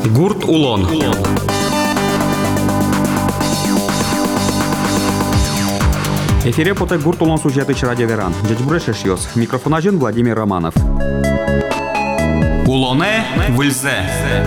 Гурт Улон. Эфире поте Гурт Улон сюжеты радио Веран. Дядь Брешешьос. Микрофонажен Владимир Романов. Улоне выльзе.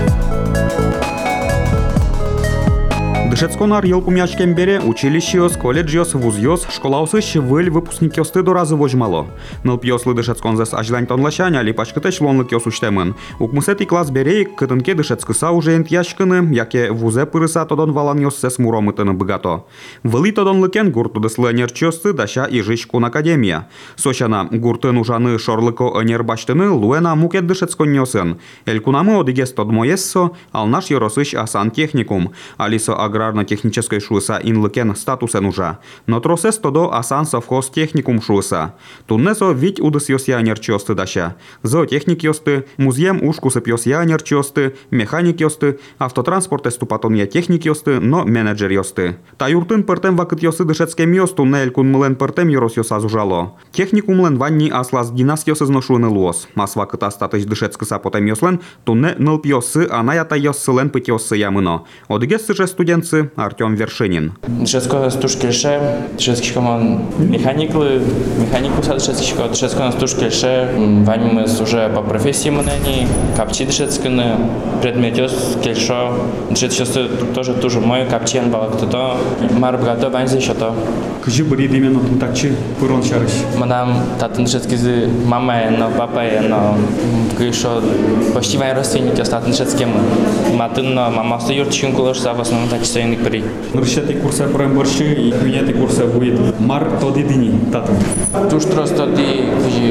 Дышецконар елпумячкем бере училищиос, колледжиос, вузьос, школаусыш выль выпускникиосты до разы вожмало. Нылпьослы дышецконзес ажлань тонлашаня липачкытеш лонлыкиос уштемын. Укмысети класс берей кытынке дышецкыса уже энтьяшкыны, яке вузе пырыса тодон валаньос сес муромытыны быгато. Вылы тодон лыкен гуртудыслы энерчиосты даща и жишкун академия. Сочана гуртын ужаны шорлыко энербаштыны луэна мукет дышецконьосын. Элькунамы одигес тодмоессо, алнаш yorosыш асан техникум. Алисо аграрно-технической шуыса инлыкен статусен ужа. Но тросес тодо асан совхоз техникум шуыса. Туннесо вить удыс йосья нерчиосты даща. Зоотехник йосты, музеем ушкусып йосья нерчиосты, механик йосты, автотранспорт эступатонья техник йосты, но менеджер йосты. Та юртын пыртем вакыт йосы дышецкем йосту не элькун мылен пыртем йорос йоса зужало. Техникумлен ванни аслас динас йосы зношуны луос. Мас вакыт астатыш дышецкыса потем йослен, тунне нылп йосы, анаята йоссылен пыть йосы ямыно. Одыгессы же студентцы Артем Вершинин. Дышецко стушкельше, дышецкий команд механиклы, механику сад дышецкий, дышецко стушкельше, вань мы уже по профессии мнений, капчи дышецкины, предметёс кельшо, дышецкий тоже туже мой капчен балак то, мар богато вань еще то. Кжи брид именно тунтакчи пырон шарыш. Мадам татын дышецкий мама, но папа, но кельшо почти вань родственники остатан дышецким, матын мама стоит чинкулош в основном так стоит при. Нуршети курса премборши и кунети курса будет мар тодидини татан. Туш просто ди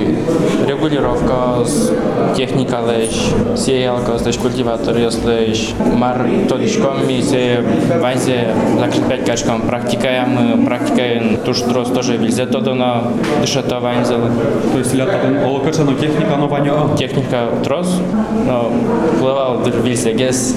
регулировка техника леш, сеялка, леш культиватор леш, мар тодишком мизе вайзе закрепять качком практикаем, практикаем туш просто тоже везде тодано дышата вайзе. То есть лятатан олокачано техника нования. Техника трос, но плывал везде гес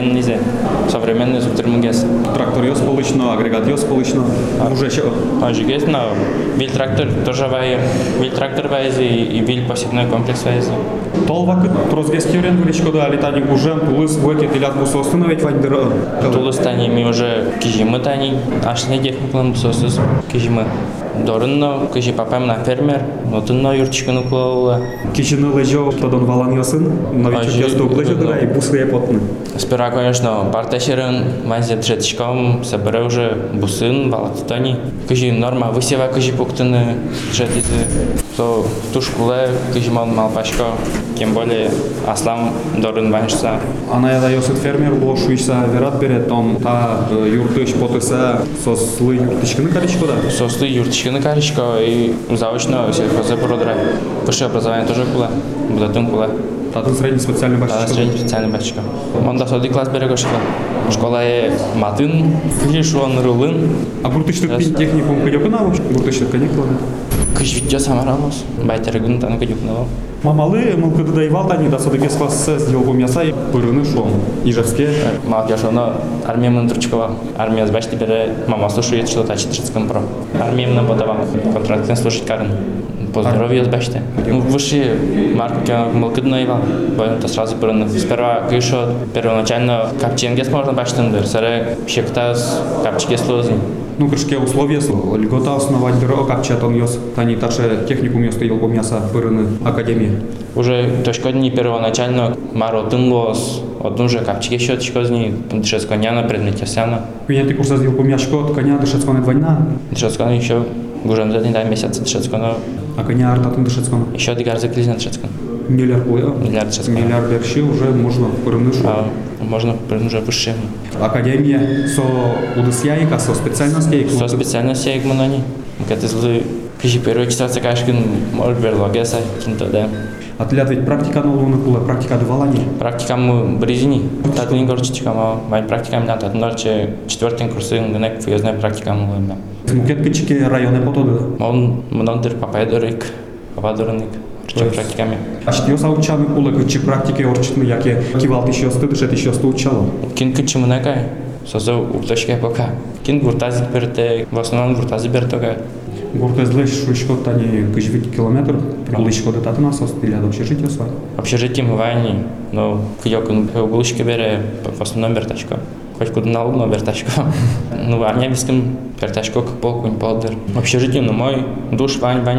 современный термогез. Трактор йос полично, агрегат йос полично. Уже еще. Агрегат, но виль трактор тоже вайзе, виль трактор вайзе и виль посевной комплекс вайзе. Толвак тросгеский вариант величко да летаник уже тулыс веки телят бусо установить вайдера. Тулыс тани ми уже кижимы тани, аж не техникалым бусосыз кижимы. Дорынно, кижи папам на фермер, но тынно юрчикыны кулаула. Кижины лежал тодон валан йосын, новичок ясту лежал да и бусы я потны. Сперва, конечно, парташерын, ванзе джетчиком, собере уже бусын, валатитани. Кижи норма высева кижи пуктыны, джетиты. То тушкуле кижи мал пашко, тем более аслам дорын ваншса. Ана яда йосыт фермер лошуйса верат берет, там та юртыш потыса сослы юртышкыны каричко да? Сослы юртышкыны каричко и заочно сельхозе продра. Высшее образование тоже кула, будатым кула. Татын средний специальный бачка. Татын средний специальный бачка. Он до соди класс берега школа. Школа е матын, кижи он рулын. А гуртыштык пин техникум кыдёкына вообще? Гуртыштык каникулы? Кыш видео самарамос, байтерегун таны кыдёкнава. Мамалы, мылкыды даевал тани да содыгес классы сделал помяса и пырыны шом. Ижевске. Молодежь, но армия мынтручкова. Армия сбачти бере, мама слушает, что тачит шицком про. Армия мне подавал, контрактен слушать карен. По здоровью сбачте. Выше марки мылкыды наевал, поэтому сразу пырыны. Сперва кышо первоначально капченгес можно бачтендер, саре щектас капчике слозни. Ну, крышке условия, льгота основать дыро, капчат он йос, тани таше техникум йос стоял помяса пырыны академии. Уже точка дни первоначально маро тынлос, одну же капчике счет чкозни, дышецконяна, предмете сяна. Меня ты курса сделал помяшко, коня дышецконы двойна. Дышецконы еще гужем за день месяца дышецконы. А коня артатын дышецконы? Еще дигар заклизна дышецконы. Миллиард плея? Миллиард дышецконы. Миллиард берши уже можно пырыны шо. Можно уже выше. Академия со удысяйка, со специальностей? Со специальностей гманани. Когда злы кижи первый читаться кашкин может берлогеса кинто да. А ты ведь практика нового кула, практика давалани? Практика мы бризини. Татный горчичка, май практика меня татнорче четвертый курсы гнек фьюзная практика мы лэмна. Мукет кички районы потоды? Он мнодер папайдорик, пападорник. Практиками. А что я заучал кула кичи практики орчитны, яке кивал еще сты, дышет еще сто учало? Кин кичи мнекай, созо укташка пока. Кин гуртази берте, в основном гуртази бертога. Гуртезлеш швидко тані кижвить кілометр, приличко до тата нас остиля до общежиття свай. Общежитие мы войне, но кидёкун углушки бере в основном вертачка. Хоть куда на луну вертачка. Ну, армия виском вертачка к полку не полдер. Общежитие, ну, мой душ,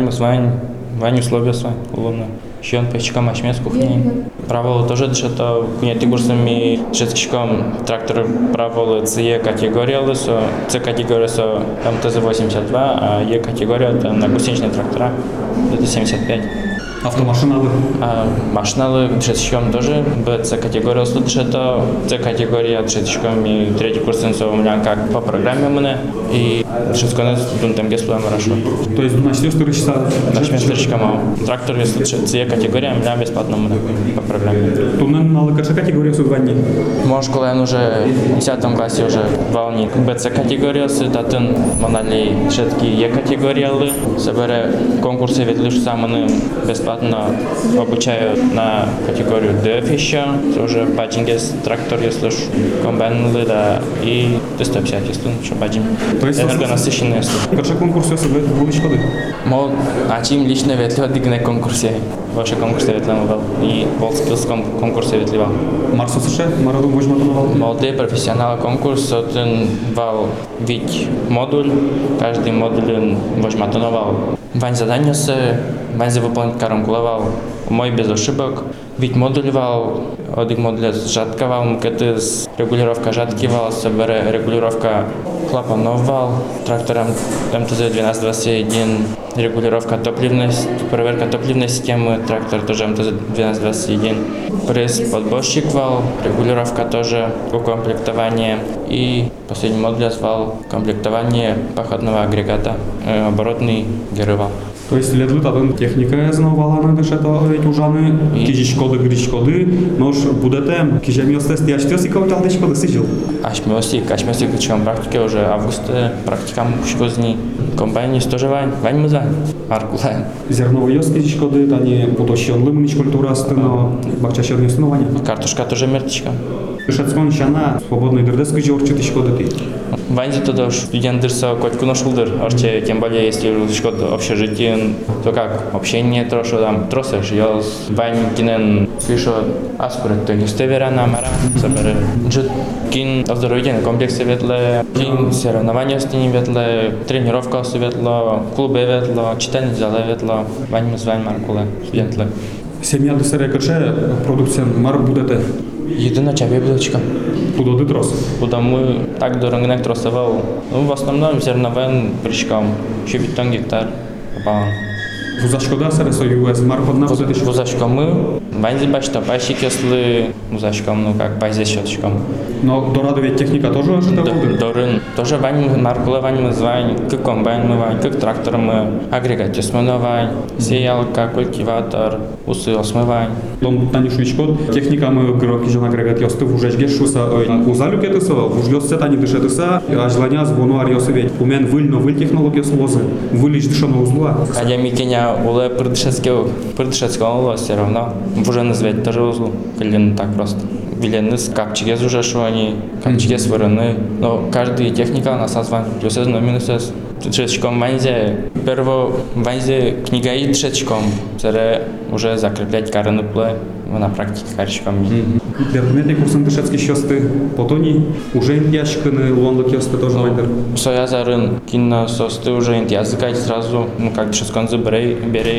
вань условия свай, луна. Еще он печка машмет кухни. Правило тоже дышато, кунети курсами шестичком трактор правило С категория лысо, С категория со МТЗ-82, а Е категория там на гусеничные трактора, это 75. Автомашиналы. А машиналы шестичком тоже, С категория лысо дышато, С категория шестичком и третий курс у меня как по программе мне, и шестконец дунтем геслуем хорошо. То есть, значит, 4 часа. Нашими строчками. Трактор, если С категория, у меня бесплатно по программе. Тунен на ЛКШ категория судвани. Может, когда он уже в 10 классе уже волнит БЦ категория, сытатын, монали шетки Е категория, собере конкурсы ведь лишь самые бесплатно обучают на категорию Д еще, уже баджингес трактор, если уж комбайн да, и 350, если что баджин. То есть энергонасыщенные. Какой конкурс я собой был еще ходы? Мол, а чем лично ветливо дигне конкурсе? Ваши конкурсы ветливо был и волскилском конкурсе ветливо. Марсо США, Мараду Вожматоновал. Молодые профессионалы конкурс, один вал вид модуль, каждый модуль Вожматоновал. Вань задание вань за выполнить каранкуловал, мой без ошибок. Вид модуль вал, один модуль жатковал, мукеты с регулировка жатки вал, собере регулировка клапанов вал, трактором МТЗ-1221, регулировка топливности, проверка топливной системы, трактор тоже МТЗ-1221, пресс подборщик вал, регулировка тоже укомплектование и последний модуль вал, комплектование походного агрегата, оборотный герывал. То есть ледлы татан техника знавала на дешето ведь ужаны кижишкоды гришкоды, нож будете кижемиостес тяштес и каутал дешкоды сижил. Ашмиосик качем практике уже августа практикам шкозни комбайни тоже вань мы за аркулай. Зерновые кижишкоды тани потощен лымнич культура стыно бакчащерне основания. Картошка тоже мертичка. Шацкон шана свободный дердески жорчит шкоды ты. Ванзи тогда студент дырса котку нашел дыр, арче тем более если шкод общежитие, то как общение трошу там тросешь, я вань кинен пишу аспорт, то не стевера на мара, соберу. Жут кин оздоровительный комплекс ветле, кин соревнования с ними ветле, тренировка светло, клубы ветло, читальный зал ветло, вань мы с вань маркуле студентле. Семья десере каче продукция мар будете. Єдина чаві блочка. Куда трос? Куда мы так до рынок тросовал. Ну, в основном зерновым причкам. Еще бетон гектар. Попал. Вузашкода сересо ЮС мар подна будете. Вузашком мы. Ванзи бачта, пащик если вузашком, ну как базе счетчиком. Но до радовед техника тоже ожидал? До рын. Тоже вань маркула вань мы звань, как комбайн мы вань, как трактор мы, агрегат мы вань, сеялка, культиватор, усы осмывань. Дом тани швичкот, техника мы гроки жена агрегат ясты вужач гешуса, узалю кетыса, вужгёссе тани дышетыса, а желания звону арьосовет. Умен выль технология слозы, вылич дышано узла. Хотя Микеня уле придышецкого уло все равно. Уже назвать тоже узлу, или так просто. Вилены с капчиге уже шо они, капчиге сворены. Но каждая техника на созвание. Плюсез, но минусез. Трешечком ванзе. Перво ванзе книга и трешечком. Це уже закреплять караны пле. На практике харчиком. Документы курсом дышецкий счёсты потони уже ящиканы лонлок ясты тоже вайдер. Соя зарын кино состы уже языкать сразу. Ну как дышецкон заберей,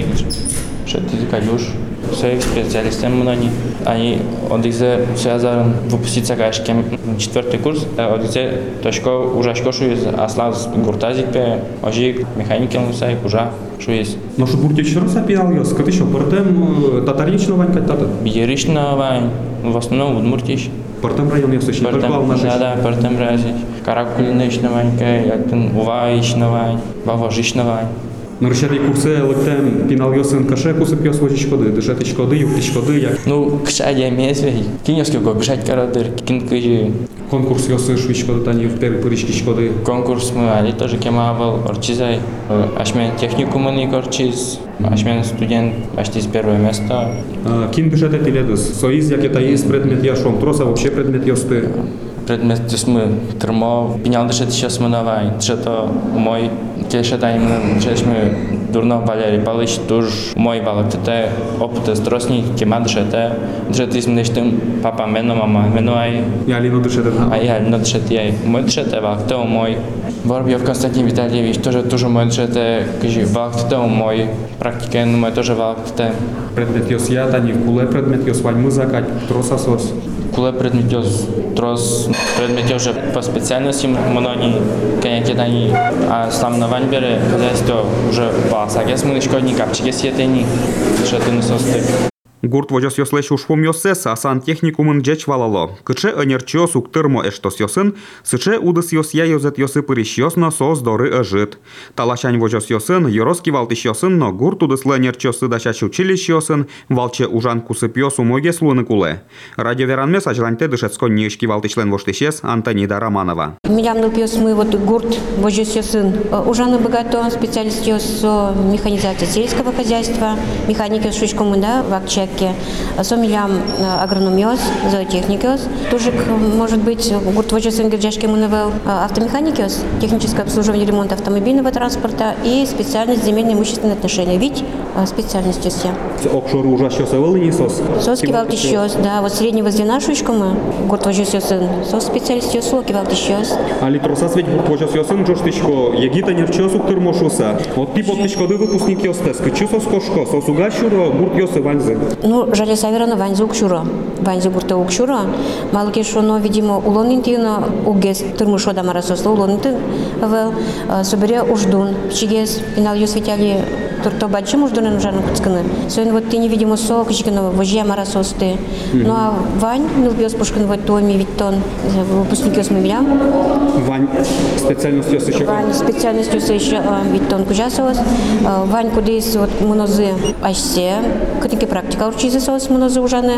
что ты закадешь. Своих специалистов они одизе связан выпуститься кашкем 4-й курс, одизе точка уже шкошу из аслаз гуртазикпе, ожик механики лусай уже что есть. Но что бурти еще раз опиал яс, как еще портем татарично вань как тата. Бьерично вань, в основном удмуртиш. Портем район я слышал, только волна жизнь. Да, портем район. Каракулинично вань, как уваично вань, бавожично вань. На решетні курси лектем пінал йосин каше куси п'яс вожі шкоди, дешети шкоди, юкти шкоди, як. Ну, кшадя мєзвей, кіньоски го бжать карадир, кінкижі. Конкурс йоси швидь шкоди, тані в перечки шкоди. Конкурс ми али тоже кемавал, орчизай, аш мен технику мені корчиз, Ашмен студент, почти с первое место. Кин бюджеты теледус. Соиз, як это есть предмет я шом троса, вообще предмет ёсты. Предмет мы термо, пенял дышит сейчас мы давай, что мой, келешета именно, мы дурно Валерий Павлович тоже мой балок, это опыт стросни, кема дышета, из меня что папа мено, мама мено ай. Я лину дышета. А я лину дышет я, мой дышета балок, то мой. Воробьев Константин Витальевич тоже мой дышета, кажи балок, то мой. Практика, но мой тоже балок, то. Предмет ёс я, та не в куле предмет ёс вань музыка, троса сос. Куле предметёс трос предметёс по специальности монони коньякетани, а сам на ваньбере хозяйство уже пасагес мы шкодни капчиге сетени, что ты нососты. Гурт вожос ёслеш ушпом ёсес, а сантехникумын джеч валало. Кыче энерчо суктырмо эштос ёсын, сыче удыс ёс я ёзет ёсы пыриш ёсно сос доры ыжит. Талашань вожос ёсын, ёроски валтыш ёсын, но гурт удыслы энерчо сыдашач училищ ёсын, валче ужан кусып ёс умоге слуны куле. Радио Веранмес ажланьте дышецко нишки валтышлен воштышес Антонида Романова. Милям пьёс мы вот гурт вожос ёсын, ужаны богато специалист ёс механизация сельского хозяйства, механики шучкому да вакчек. Сомилям агрономиоз, зоотехникиоз, тоже может быть гурт вожосен герджашки мунавел автомеханикиоз, техническое обслуживание ремонта автомобильного транспорта и специальность земельные имущественные отношения. Ведь специальностью все. Окшору ужас ёсевел не сос. Сос кивалтищёс, да, вот среднего звена шучкому гурт вожосен, сос специалист ёсо кивалтищёс. А литросас ведь гурт вожос ёсен джоштышко, егита нерчо суктырмошуса. Вот ты подтышкоды выпускник ёстес, кычу сос кошко, сос угашуро гурт ёсы ванзы. Ну, жаль, саверано ванзу укшуро. Ванзу гурта укшуро. Малки шоно, видимо, улонинтино угес тырмышо да марасосло улонинтин вел собере уждун. Чигес пинал ёсветяли турто бачим уждунен жарно куцканы. Соин вот ты невидимо сок, чигано вожья марасосты. Ну а Вань, милбиос пушкин вот томи виттон выпускник ёсмемля. Вань специальность ёс еще. Вань специальность ёс еще виттон кужасос. Вань кудис вот монозы ашсе. Катики практика учиться сос монозы ужаны.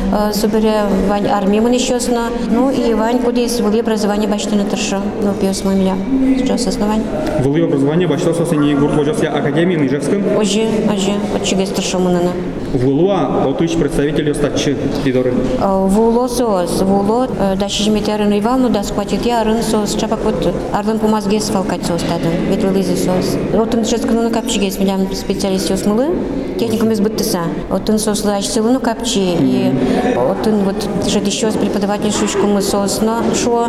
Собере Вань армии мы нещёсно. Ну и Вань кудис вели образование бачты на торшо. Ну пьёс мемля. Сейчас основань. Вели образование бачты сос не гурт вожос я академии Ижевском. Ожи, от чигес торшо мунана. Вулуа отыч представитель остатчи идоры. Вуло сос, вуло даши жметерен Ивану да схватит я рын сос чапак вот арлен помазгес фалкать сос тадын. Вет вылызы сос. Отын сейчас кну на капчигес милям специалист сос мылы. Техникум из быттыса. Отын сос лач силу на капчи и отын вот жет еще преподаватель шучку мы сос на шо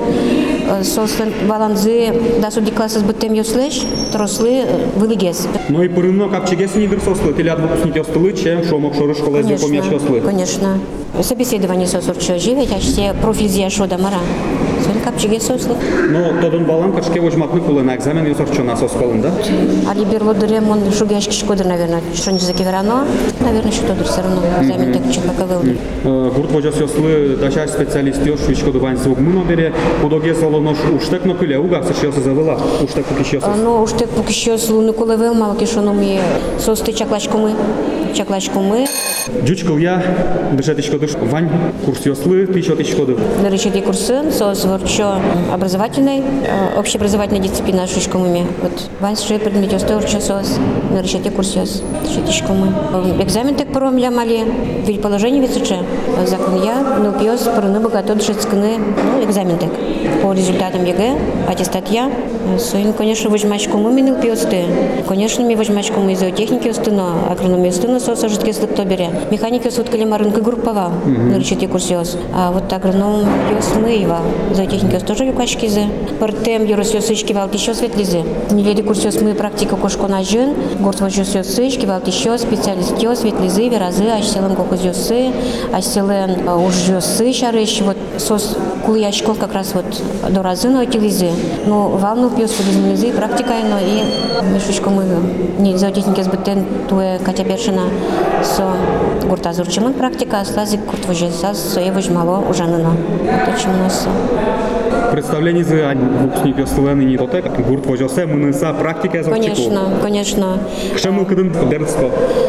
сос баланзы да суди класс с быттем ёслеш трослы вылыгес. Ну и пырынно капчигес не дырсослы, телят выпускник ёстылы, чем шомок шоры школа из помяч ёслы. Конечно. Собеседование сос урчо живет, а все профиль зия шо да мара. Сон капчигес сослы. Но тодын балам качке возьматны кулы на экзамен ёсорчо на сосколын, да? Али берлодыре мон шугяшки шкодыр, наверное, что не закиверано. Наверное, что тодыр все равно. Экзамен так чепака вылды. Гурт вожос ёслы дашаш специалист ёс шучко дувань звук мыно бере, кудоге солонош уштек но кыле угак сыш ёсы завела, уштек пуки ёсос. Ну, уштек пуки ёс луны кулы вел, малки шоно ми состы чаклачку мы. Джучкал я, дышатичко дыш, вань, курс ёслы, тысячо дыв. Наречет курсы, сос ворчо образовательной, общеобразовательной дисциплины шучку мы. Вот вань ши предмет ёсты ворчо сос, наречет курс ёс, дышатичку мы. Экзамен так пором ля мали, ведь положение височе. Закон я, ну пьёс, порыны богато дышатсканы, ну экзамен так. По результатам ЕГЭ, аттестат я, соин, конечно, возьмачку мы минул пьёсты. Конечно, ми возьмачку мы зоотехники ёстыно, агрономия ёстыно сос ожитки слыкто бере. Механики ёс уткали марынка группова, наречет курс ёс. А вот агроном ёс мы его. Зоотехники ёс тоже юкачки зе. Портем ёрос ёсычки валт ещё светлизе. Неледи курс ёс мы практика кошко на жен. Горд вожос ёсычки валт ещё специалист ёс светлизы, веразы, ащелен колхоз ёсы, ащелен уж ёсы шарыш. Вот сос кулыяшков как раз вот до разы на утилизы. Ну валну пьёс филизмизы практика но и мешочку мы не зоотехники сбытен туе Катя Першина со гурта зурчимын практика слази курт вожос соевож мало ужанано. Точно у нас. Представление за выпускник ёслы не тотек, гурт вожосе мыныса практика зоотехнику. Конечно. Что мы кадын дерцто? Ну,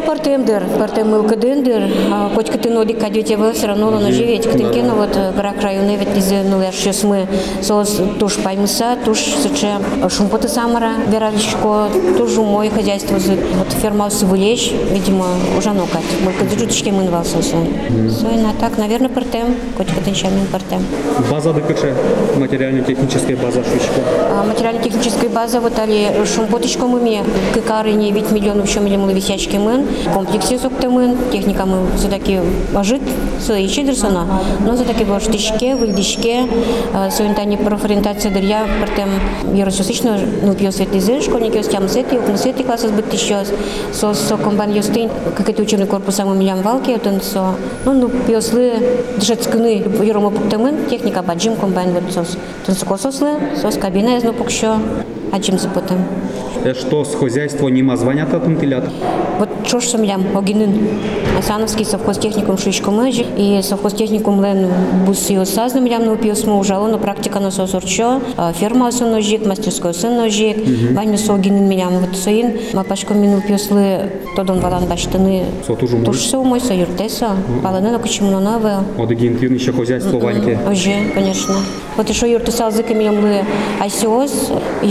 партемдер, партем кадендер, хоть катено дикадете вы все равно на живете. Катенкено вот грак районе ведь из сейчас мы сос туш паймса, туш сече шумпота самара, вералищко, тоже мое хозяйство вот ферма Сывулещ, видимо, уже нокать. Мы кадежуточки мы инвался сон. Сойна так, наверное, партем, хоть катенчамин партем. База ДКЧ, материально-техническая база шучка. Материально-техническая база вот али шумпоточку мы кикары не 9 миллионов еще миллион висячки мы, комплексе соктемын, техника мы все-таки ожит, свои чедерсона, но все-таки в штичке, в льдичке, сойнтани профориентация дырья, партем ерососично, ну пьет светлизы, школьники остям сети, укмусети класса сбыт еще, со комбан юстин, как это учебный корпус самым миллион валки, вот он со, ну пьеслы дышецкны, ерому пуктемын, техника баджим комбайн вот сос, тонско сослы, сос кабина из нопукщо, аджим запутем. Что с хозяйства нема звонят от интелят? Вот что ж сам огинын. Асановский совхозтехникум шишкомыжи и совхозтехникум лен бусио сазнам лям на пьесму ужало на практика на сосорчо, ферма осоножик, мастерской осоножик, вань со огинын милям вот соин, мапашко мину пьеслы тодон валан баштаны. Сотужу мой. Тоже мой союртеса, паланы на кучему на новое. Одегин еще хозяйство ваньки. Уже, конечно. Вот еще юртесал зыками лямлы асиос,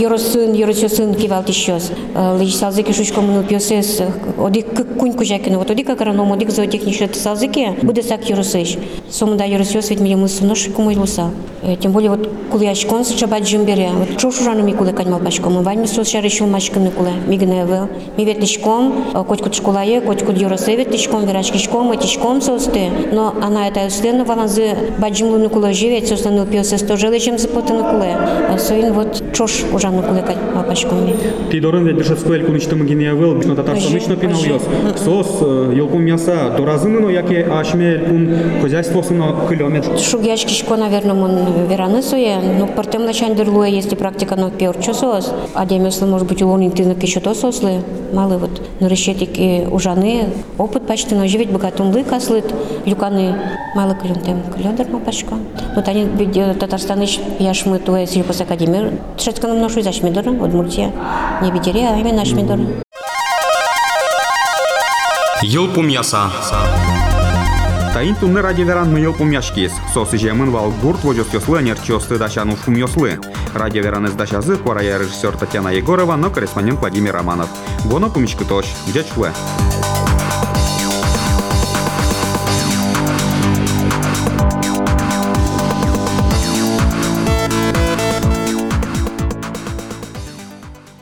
юросин кивал тищос. Лежисал зыки шучком мину пьесес, одик куньку жакину, вот одик агроном, одик зоотехничный тесал зыки, буде сак юросыш. Сомда юросиос ведь милям суноши кумылюса. Тем более вот кулячкон с чабат джимбере. Вот чё шужану ми куле каньмал башком, вань сос шарышил мачками куле, мигневел. Ми ветличком, коть школае, коть юросе ветличком, верачкичком, этичком состы. Но она это стена валанзы баджимлуну куле живет, состану пьесес тоже лечим запотану куле. Соин вот чё ж ужану куле каньмал башком ми. Тидорын ведь дышецкую эльку ничто магинеевел, бишно татарстанычно пинал ёс. Сос елпум мяса доразыны, но яке ашме эльпум хозяйство сына километр. Шугячкичко, наверное, он вераны суе, но партем начандерлуе, если практика но пьер часос, а демеслы может быть улон интинок еще то сослы, малы вот, но решетики ужаны, опыт почти но живет богатым лыкаслыт, люканы мало клюнтем, клюндер мапашко. Вот они татарстаныч яшмы туе сельпос академир, тшецканом ношу из ашмидора, от мультия, не бедере, а именно ашмидора. Елпум мяса. Таин тунны ради веран мы елпум мяшкис. Сосы жемын вал гурт возёс ёслы, нерчёсты дачану шум ёслы. Ради веран из дачазы, порая режиссер Татьяна Егорова, но корреспондент Владимир Романов. Гоно пумичка тош, где чуэ.